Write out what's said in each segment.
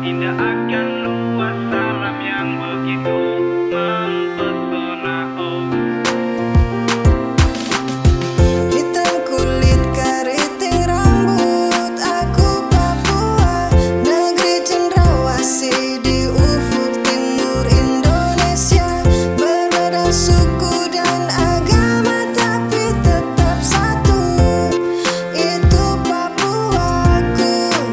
Indah akan luas alam yang begitu mempesona. Oh, hitam kulit keriting rambut, aku Papua, negeri cendrawasih di ufuk timur Indonesia. Berbeda suku dan agama tapi tetap satu, itu Papuaku,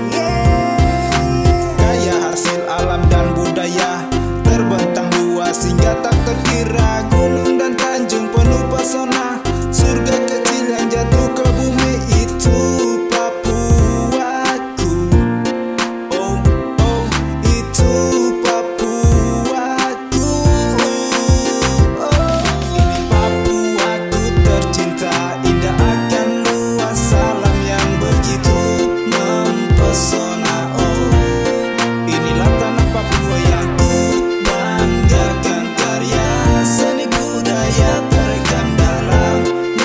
Kaya hasil alam dan budaya, terbentang luas hingga tak terkira. Gunung dan tanjung penuh pesona, surga kecil yang jatuh ke bumi, itu Papuaku. Oh, oh, itu Papuaku. Oh, ini Papuaku tercinta, indah akan luas alam yang begitu mempesona. Oh, inilah tanah Papua yang ku banggakan, karya seni budaya terekam dalam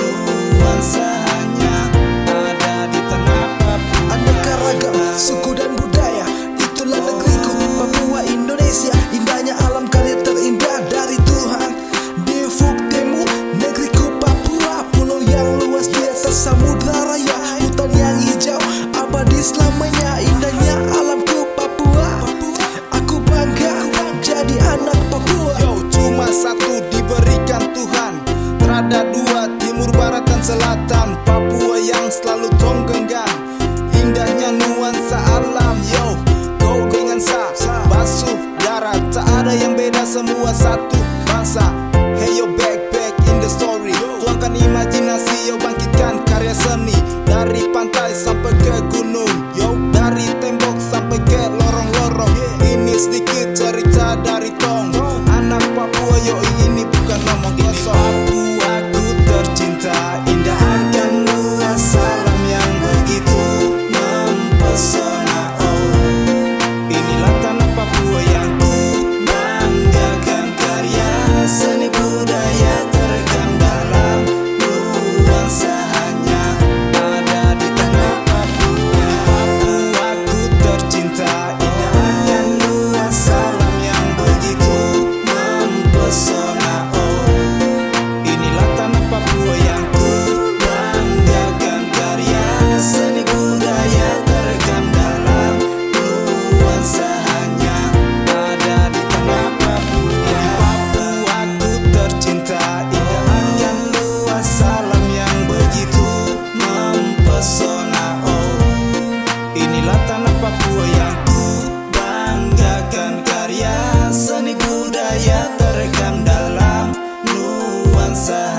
nuansanya ada di tanah Papua. Aneka ragam suku dan budaya, itulah negeriku Papua Indonesia. Indahnya alam karya terindah dari Tuhan di ufuk timur negeriku Papua. Pulau yang luas di atas samudra raya, hutan yang hijau abadi selamanya. Indahnya alamku Papua, aku bangga jadi anak Papua. Yo, cuma satu diberikan Tuhan, terada dua, timur, barat, dan selatan. Papua yang selalu tong genggam, indahnya nuansa alam. Yo, kau dengan basuh darat, tak ada yang beda, semua satu bangsa. Hey yo, back in the story, tuangkan imajinasi, yo bangkitkan karya seni. Dari pantai sampai ke gunung, yo dari tembok sampai ke lorong-lorong. Ini sedikit cerita dari tong anak Papua, yo ini bukan ngomong kosong. Papuaku tercinta, indah akan luas alam yang begitu mempesona. Oh, inilah tanah Papua yang ku banggakan, karya seni budaya terekam dalam nuansanya ada di tanah Papua. Papuaku tercinta, indah akan luas alam yang begitu mempesona. Oh, inilah tanah Papua yang ku banggakan, karya seni budaya terekam dalam nuansanya ada di tanah Papua. Papuaku tercinta, indah akan luas alam yang begitu mempesona. Oh, inilah tanah Papua yang ku banggakan, karya seni budaya terekam dalam nuansa